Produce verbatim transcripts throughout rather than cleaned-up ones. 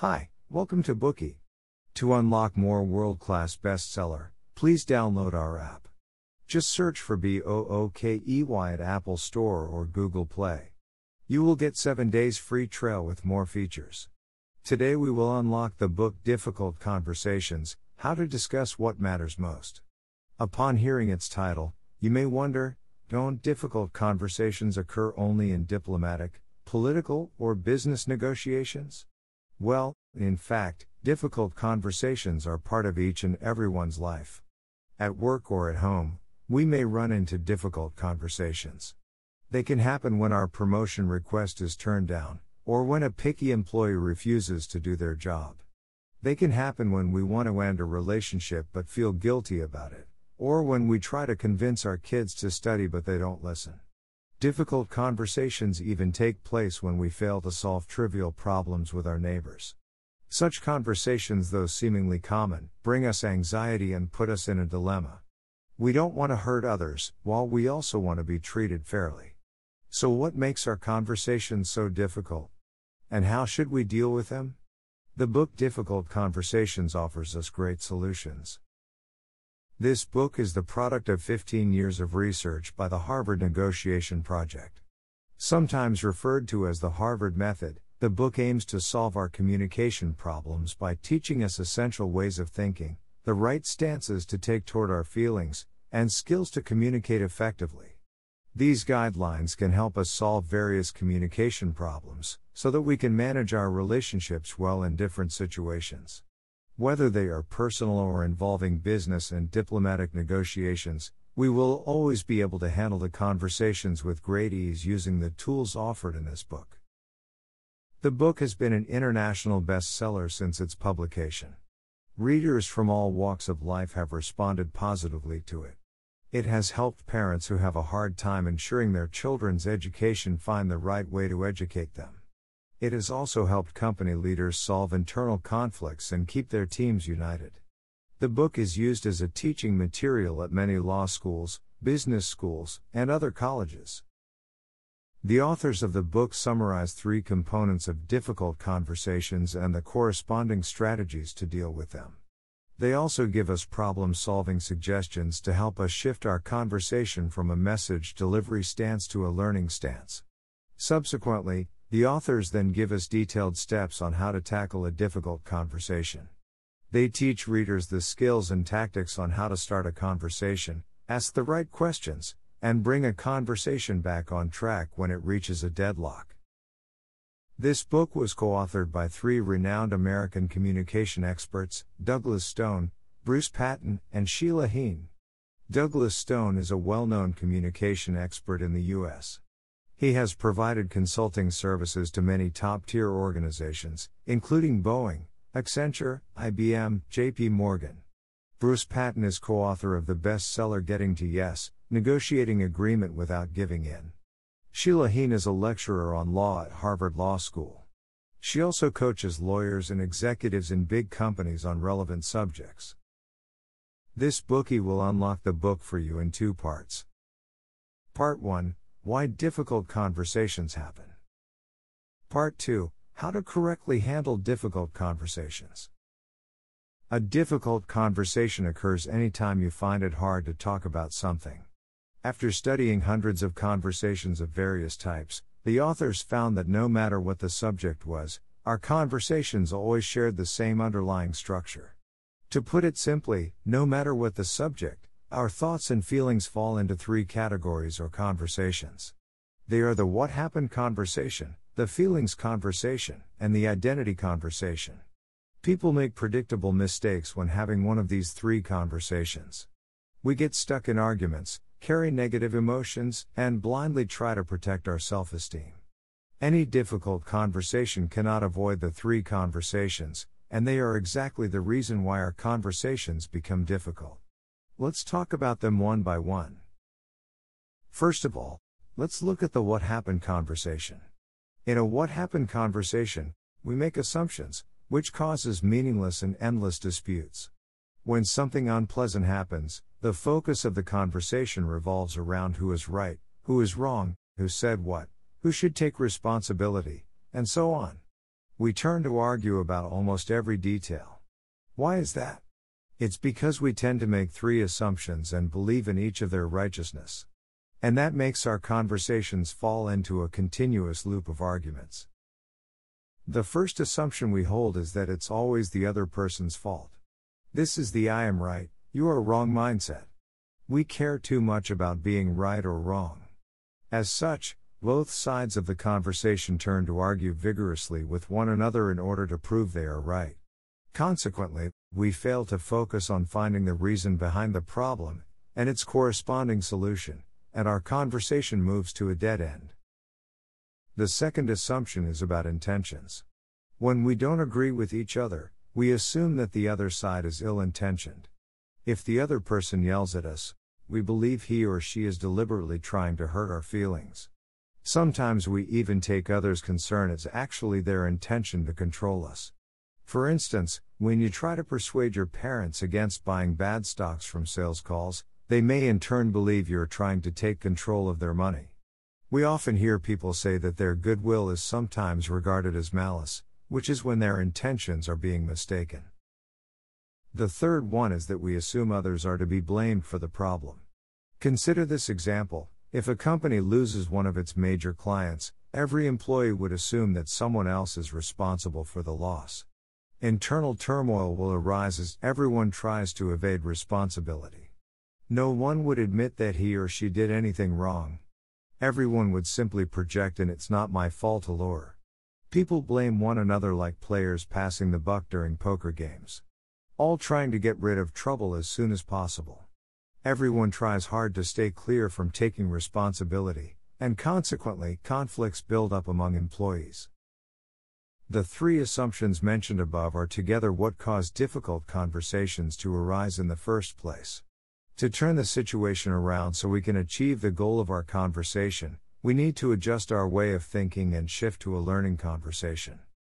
Hi, welcome to Bookey. To unlock more world-class bestseller, please download our app. Just search for B O O K E Y at Apple Store or Google Play. You will get seven days free trial with more features. Today we will unlock the book Difficult Conversations, How to Discuss What Matters Most. Upon hearing its title, you may wonder, don't difficult conversations occur only in diplomatic, political, or business negotiations? Well, in fact, difficult conversations are part of each and everyone's life. At work or at home, we may run into difficult conversations. They can happen when our promotion request is turned down, or when a picky employee refuses to do their job. They can happen when we want to end a relationship but feel guilty about it, or when we try to convince our kids to study but they don't listen. Difficult conversations even take place when we fail to solve trivial problems with our neighbors. Such conversations, though seemingly common, bring us anxiety and put us in a dilemma. We don't want to hurt others, while we also want to be treated fairly. So what makes our conversations so difficult? And how should we deal with them? The book Difficult Conversations offers us great solutions. This book is the product of fifteen years of research by the Harvard Negotiation Project. Sometimes referred to as the Harvard Method, the book aims to solve our communication problems by teaching us essential ways of thinking, the right stances to take toward our feelings, and skills to communicate effectively. These guidelines can help us solve various communication problems, so that we can manage our relationships well in different situations. Whether they are personal or involving business and diplomatic negotiations, we will always be able to handle the conversations with great ease using the tools offered in this book. The book has been an international bestseller since its publication. Readers from all walks of life have responded positively to it. It has helped parents who have a hard time ensuring their children's education find the right way to educate them. It has also helped company leaders solve internal conflicts and keep their teams united. The book is used as a teaching material at many law schools, business schools, and other colleges. The authors of the book summarize three components of difficult conversations and the corresponding strategies to deal with them. They also give us problem-solving suggestions to help us shift our conversation from a message delivery stance to a learning stance. Subsequently, the authors then give us detailed steps on how to tackle a difficult conversation. They teach readers the skills and tactics on how to start a conversation, ask the right questions, and bring a conversation back on track when it reaches a deadlock. This book was co-authored by three renowned American communication experts, Douglas Stone, Bruce Patton, and Sheila Heen. Douglas Stone is a well-known communication expert in the U S He has provided consulting services to many top-tier organizations, including Boeing, Accenture, I B M, J P Morgan. Bruce Patton is co-author of the bestseller Getting to Yes, Negotiating Agreement Without Giving In. Sheila Heen is a lecturer on law at Harvard Law School. She also coaches lawyers and executives in big companies on relevant subjects. This Bookey will unlock the book for you in two parts. Part one. Why difficult conversations happen. Part two. How to correctly handle difficult conversations. A difficult conversation occurs anytime you find it hard to talk about something. After studying hundreds of conversations of various types, the authors found that no matter what the subject was, our conversations always shared the same underlying structure. To put it simply, no matter what the subject, our thoughts and feelings fall into three categories or conversations. They are the what happened conversation, the feelings conversation, and the identity conversation. People make predictable mistakes when having one of these three conversations. We get stuck in arguments, carry negative emotions, and blindly try to protect our self-esteem. Any difficult conversation cannot avoid the three conversations, and they are exactly the reason why our conversations become difficult. Let's talk about them one by one. First of all, let's look at the what happened conversation. In a what happened conversation, we make assumptions, which causes meaningless and endless disputes. When something unpleasant happens, the focus of the conversation revolves around who is right, who is wrong, who said what, who should take responsibility, and so on. We turn to argue about almost every detail. Why is that? It's because we tend to make three assumptions and believe in each of their righteousness. And that makes our conversations fall into a continuous loop of arguments. The first assumption we hold is that it's always the other person's fault. This is the I am right, you are wrong mindset. We care too much about being right or wrong. As such, both sides of the conversation turn to argue vigorously with one another in order to prove they are right. Consequently, we fail to focus on finding the reason behind the problem and its corresponding solution, and our conversation moves to a dead end. The second assumption is about intentions. When we don't agree with each other, we assume that the other side is ill-intentioned. If the other person yells at us, we believe he or she is deliberately trying to hurt our feelings. Sometimes we even take others' concern as actually their intention to control us. For instance, when you try to persuade your parents against buying bad stocks from sales calls, they may in turn believe you're trying to take control of their money. We often hear people say that their goodwill is sometimes regarded as malice, which is when their intentions are being mistaken. The third one is that we assume others are to be blamed for the problem. Consider this example: if a company loses one of its major clients, every employee would assume that someone else is responsible for the loss. Internal turmoil will arise as everyone tries to evade responsibility. No one would admit that he or she did anything wrong. Everyone would simply project an "it's not my fault" allure. People blame one another like players passing the buck during poker games. All trying to get rid of trouble as soon as possible. Everyone tries hard to stay clear from taking responsibility, and consequently, conflicts build up among employees. The three assumptions mentioned above are together what cause difficult conversations to arise in the first place. To turn the situation around so we can achieve the goal of our conversation, we need to adjust our way of thinking and shift to a learning conversation.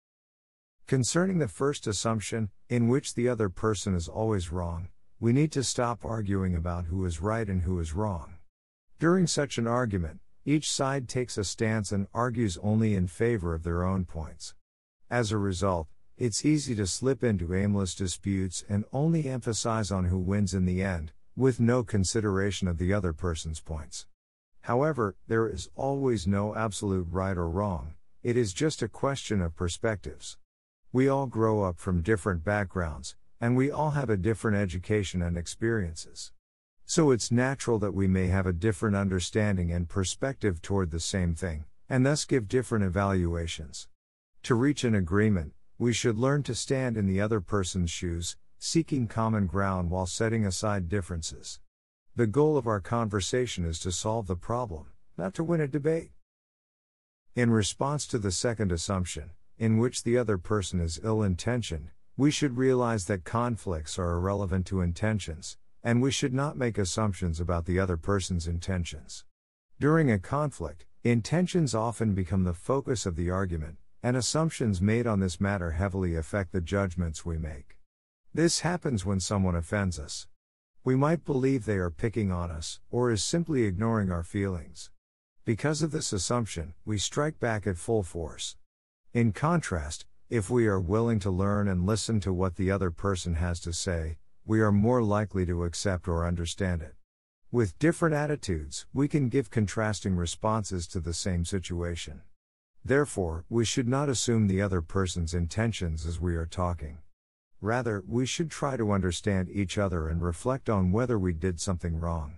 Concerning the first assumption, in which the other person is always wrong, we need to stop arguing about who is right and who is wrong. During such an argument, each side takes a stance and argues only in favor of their own points. As a result, it's easy to slip into aimless disputes and only emphasize on who wins in the end, with no consideration of the other person's points. However, there is always no absolute right or wrong, it is just a question of perspectives. We all grow up from different backgrounds, and we all have a different education and experiences. So it's natural that we may have a different understanding and perspective toward the same thing, and thus give different evaluations. To reach an agreement, we should learn to stand in the other person's shoes, seeking common ground while setting aside differences. The goal of our conversation is to solve the problem, not to win a debate. In response to the second assumption, in which the other person is ill-intentioned, we should realize that conflicts are irrelevant to intentions, and we should not make assumptions about the other person's intentions. During a conflict, intentions often become the focus of the argument, and assumptions made on this matter heavily affect the judgments we make. This happens when someone offends us. We might believe they are picking on us, or is simply ignoring our feelings. Because of this assumption, we strike back at full force. In contrast, if we are willing to learn and listen to what the other person has to say, we are more likely to accept or understand it. With different attitudes, we can give contrasting responses to the same situation. Therefore, we should not assume the other person's intentions as we are talking. Rather, we should try to understand each other and reflect on whether we did something wrong.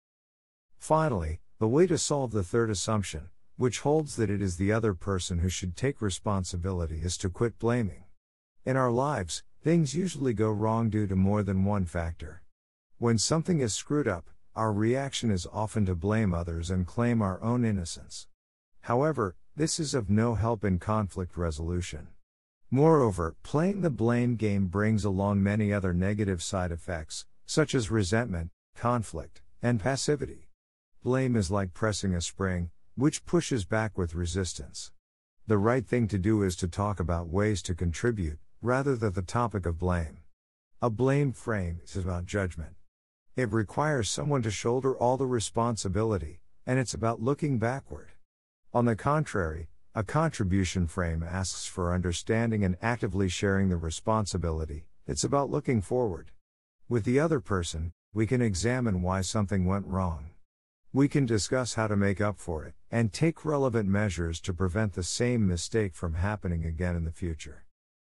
Finally, the way to solve the third assumption, which holds that it is the other person who should take responsibility, is to quit blaming. In our lives, things usually go wrong due to more than one factor. When something is screwed up, our reaction is often to blame others and claim our own innocence. However, this is of no help in conflict resolution. Moreover, playing the blame game brings along many other negative side effects, such as resentment, conflict, and passivity. Blame is like pressing a spring, which pushes back with resistance. The right thing to do is to talk about ways to contribute, rather than the topic of blame. A blame frame is about judgment. It requires someone to shoulder all the responsibility, and it's about looking backward. On the contrary, a A contribution frame asks for understanding and actively sharing the responsibility. It's about looking forward. With the other person, we can examine why something went wrong. We can discuss how to make up for it, and take relevant measures to prevent the same mistake from happening again in the future.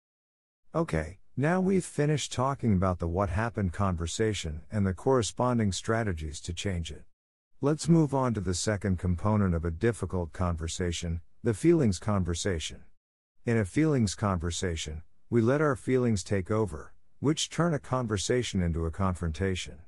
Okay, now we've finished talking about the what happened conversation and the corresponding strategies to change it. Let's move on to the second component of a difficult conversation, the feelings conversation. In a feelings conversation, we let our feelings take over, which turn a conversation into a confrontation.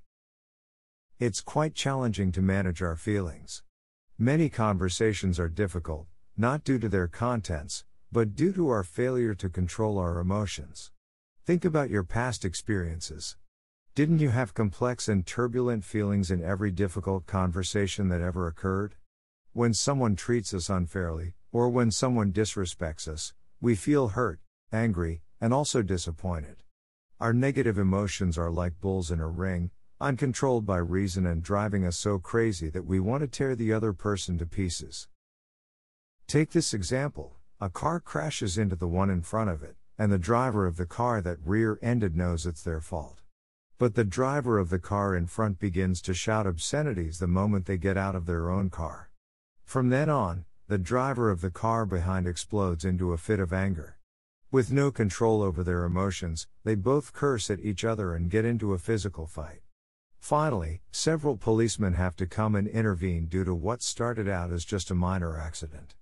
It's quite challenging to manage our feelings. Many conversations are difficult, not due to their contents, but due to our failure to control our emotions. Think about your past experiences. Didn't you have complex and turbulent feelings in every difficult conversation that ever occurred? When someone treats us unfairly, or when someone disrespects us, we feel hurt, angry, and also disappointed. Our negative emotions are like bulls in a ring, uncontrolled by reason and driving us so crazy that we want to tear the other person to pieces. Take this example: a car crashes into the one in front of it, and the driver of the car that rear-ended knows it's their fault. But the driver of the car in front begins to shout obscenities the moment they get out of their own car. From then on, the driver of the car behind explodes into a fit of anger. With no control over their emotions, they both curse at each other and get into a physical fight. Finally, several policemen have to come and intervene due to what started out as just a minor accident.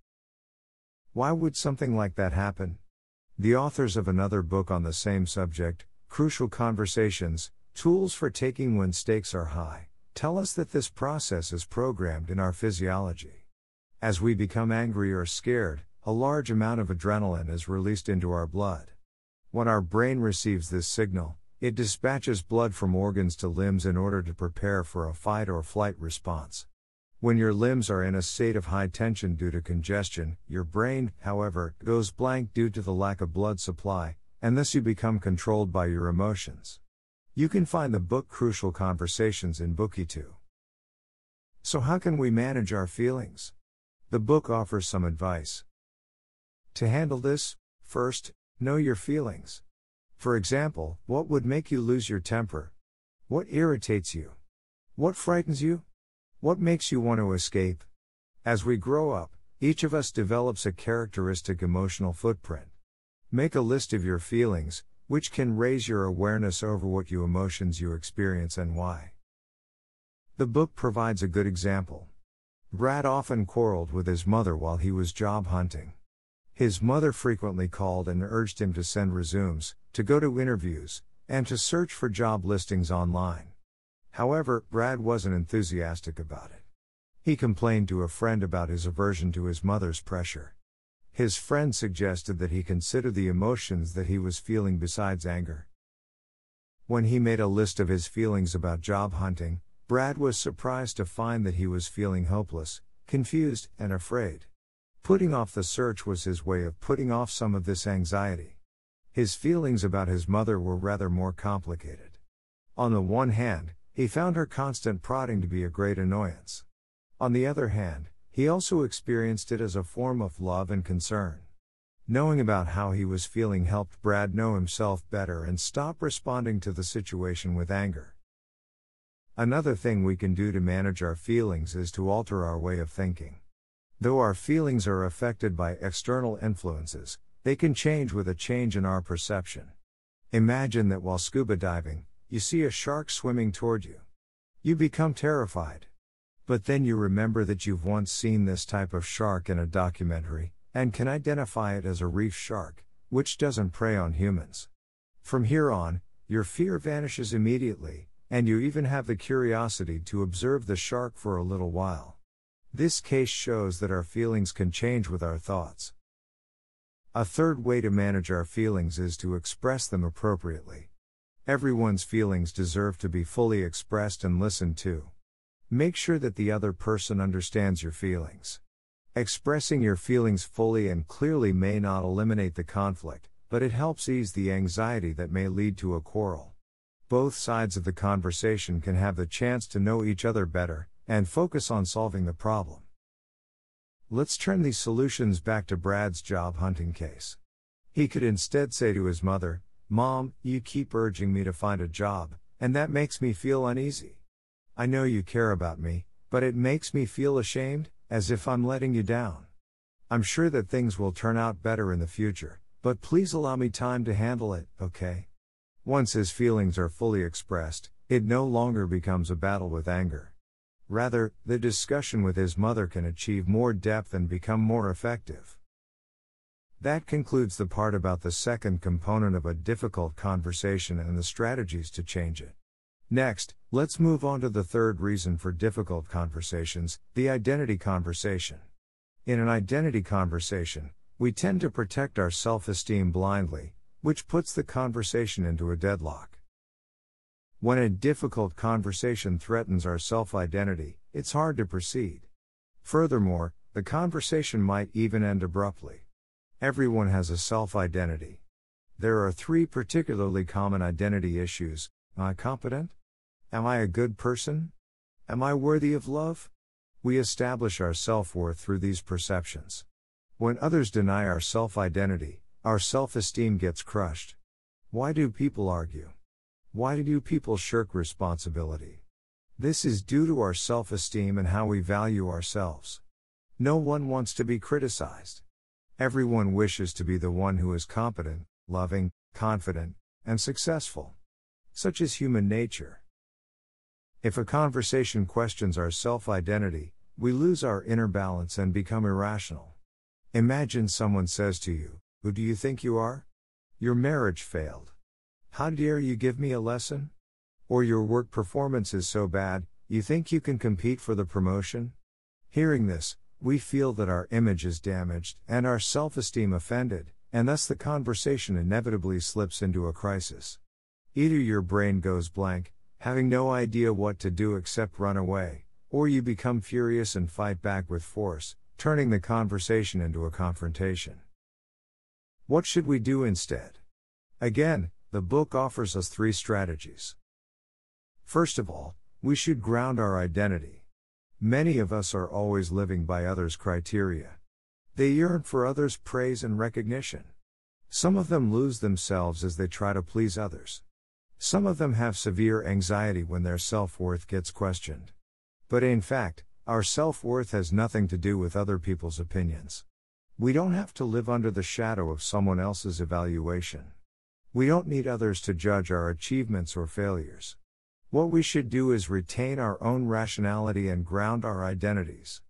Why would something like that happen? The authors of another book on the same subject, Crucial Conversations, Tools for Taking When Stakes Are High, tell us that this process is programmed in our physiology. As we become angry or scared, a large amount of adrenaline is released into our blood. When our brain receives this signal, it dispatches blood from organs to limbs in order to prepare for a fight or flight response. When your limbs are in a state of high tension due to congestion, your brain, however, goes blank due to the lack of blood supply, and thus you become controlled by your emotions. You can find the book Crucial Conversations in Bookitude. So how can we manage our feelings? The book offers some advice. To handle this, first, know your feelings. For example, what would make you lose your temper? What irritates you? What frightens you? What makes you want to escape? As we grow up, each of us develops a characteristic emotional footprint. Make a list of your feelings, which can raise your awareness over what you emotions you experience and why. The book provides a good example. Brad often quarreled with his mother while he was job hunting. His mother frequently called and urged him to send resumes, to go to interviews, and to search for job listings online. However, Brad wasn't enthusiastic about it. He complained to a friend about his aversion to his mother's pressure. His friend suggested that he consider the emotions that he was feeling besides anger. When he made a list of his feelings about job hunting, Brad was surprised to find that he was feeling hopeless, confused, and afraid. Putting off the search was his way of putting off some of this anxiety. His feelings about his mother were rather more complicated. On the one hand, he found her constant prodding to be a great annoyance. On the other hand, he also experienced it as a form of love and concern. Knowing about how he was feeling helped Brad know himself better and stop responding to the situation with anger. Another thing we can do to manage our feelings is to alter our way of thinking. Though our feelings are affected by external influences, they can change with a change in our perception. Imagine that while scuba diving, you see a shark swimming toward you. You become terrified. But then you remember that you've once seen this type of shark in a documentary, and can identify it as a reef shark, which doesn't prey on humans. From here on, your fear vanishes immediately, and you even have the curiosity to observe the shark for a little while. This case shows that our feelings can change with our thoughts. A third way to manage our feelings is to express them appropriately. Everyone's feelings deserve to be fully expressed and listened to. Make sure that the other person understands your feelings. Expressing your feelings fully and clearly may not eliminate the conflict, but it helps ease the anxiety that may lead to a quarrel. Both sides of the conversation can have the chance to know each other better, and focus on solving the problem. Let's turn these solutions back to Brad's job hunting case. He could instead say to his mother, "Mom, you keep urging me to find a job, and that makes me feel uneasy. I know you care about me, but it makes me feel ashamed, as if I'm letting you down. I'm sure that things will turn out better in the future, but please allow me time to handle it, okay?" Once his feelings are fully expressed, it no longer becomes a battle with anger. Rather, the discussion with his mother can achieve more depth and become more effective. That concludes the part about the second component of a difficult conversation and the strategies to change it. Next, let's move on to the third reason for difficult conversations, the identity conversation. In an identity conversation, we tend to protect our self-esteem blindly, which puts the conversation into a deadlock. When a difficult conversation threatens our self-identity, it's hard to proceed. Furthermore, the conversation might even end abruptly. Everyone has a self-identity. There are three particularly common identity issues. Am I competent? Am I a good person? Am I worthy of love? We establish our self-worth through these perceptions. When others deny our self-identity, our self-esteem gets crushed. Why do people argue? Why do people shirk responsibility? This is due to our self-esteem and how we value ourselves. No one wants to be criticized. Everyone wishes to be the one who is competent, loving, confident, and successful. Such is human nature. If a conversation questions our self-identity, we lose our inner balance and become irrational. Imagine someone says to you, "Who do you think you are? Your marriage failed. How dare you give me a lesson?" Or your work performance is so bad, you think you can compete for the promotion? Hearing this, we feel that our image is damaged and our self-esteem offended, and thus the conversation inevitably slips into a crisis. Either your brain goes blank, having no idea what to do except run away, or you become furious and fight back with force, turning the conversation into a confrontation. What should we do instead? Again, the book offers us three strategies. First of all, we should ground our identity. Many of us are always living by others' criteria. They yearn for others' praise and recognition. Some of them lose themselves as they try to please others. Some of them have severe anxiety when their self-worth gets questioned. But in fact, our self-worth has nothing to do with other people's opinions. We don't have to live under the shadow of someone else's evaluation. We don't need others to judge our achievements or failures. What we should do is retain our own rationality and ground our identities.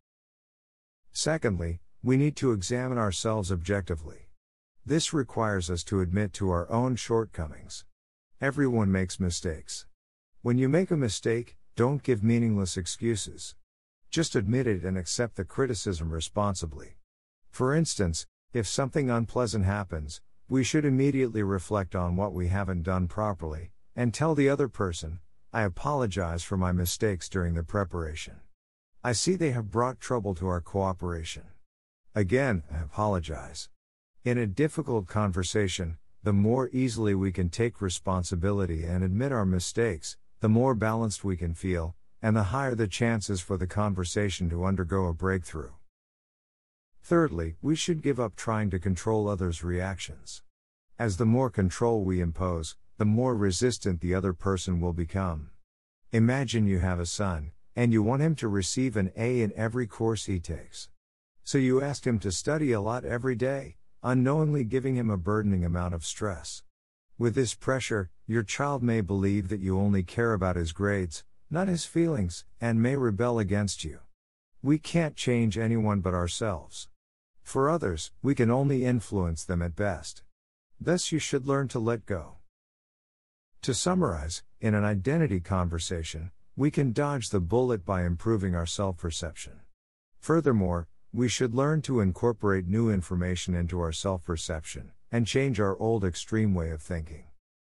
Secondly, we need to examine ourselves objectively. This requires us to admit to our own shortcomings. Everyone makes mistakes. When you make a mistake, don't give meaningless excuses. Just admit it and accept the criticism responsibly. For instance, if something unpleasant happens, we should immediately reflect on what we haven't done properly, and tell the other person, "I apologize for my mistakes during the preparation. I see they have brought trouble to our cooperation. Again, I apologize." In a difficult conversation, the more easily we can take responsibility and admit our mistakes, the more balanced we can feel, and the higher the chances for the conversation to undergo a breakthrough. Thirdly, we should give up trying to control others' reactions. As the more control we impose, the more resistant the other person will become. Imagine you have a son, and you want him to receive an A in every course he takes. So you ask him to study a lot every day, unknowingly giving him a burdening amount of stress. With this pressure, your child may believe that you only care about his grades, not his feelings, and may rebel against you. We can't change anyone but ourselves. For others, we can only influence them at best. Thus you should learn to let go. To summarize, in an identity conversation, we can dodge the bullet by improving our self-perception. Furthermore, we should learn to incorporate new information into our self-perception, and change our old extreme way of thinking.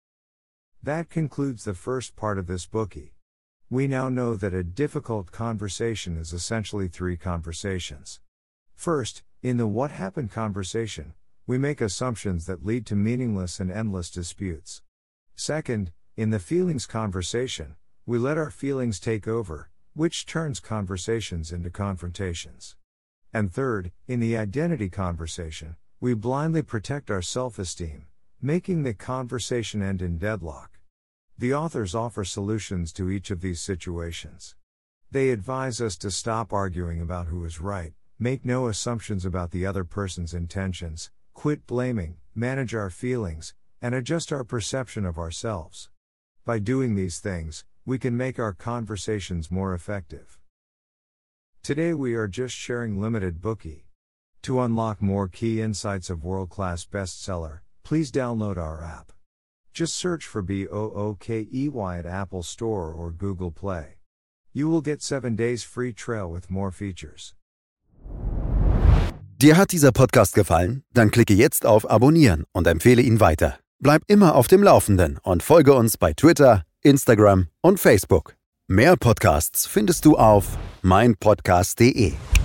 That concludes the first part of this bookie. We now know that a difficult conversation is essentially three conversations. First, in the what happened conversation, we make assumptions that lead to meaningless and endless disputes. Second, in the feelings conversation, we let our feelings take over, which turns conversations into confrontations. And third, in the identity conversation, we blindly protect our self-esteem, making the conversation end in deadlock. The authors offer solutions to each of these situations. They advise us to stop arguing about who is right, make no assumptions about the other person's intentions, quit blaming, manage our feelings, and adjust our perception of ourselves. By doing these things, we can make our conversations more effective. Today we are just sharing limited Bookey. To unlock more key insights of world-class bestseller, please download our app. Just search for Bookey at Apple Store or Google Play. You will get seven days free trial with more features. Dir hat dieser Podcast gefallen? Dann klicke jetzt auf Abonnieren und empfehle ihn weiter. Bleib immer auf dem Laufenden und folge uns bei Twitter, Instagram und Facebook. Mehr Podcasts findest du auf meinpodcast punkt de.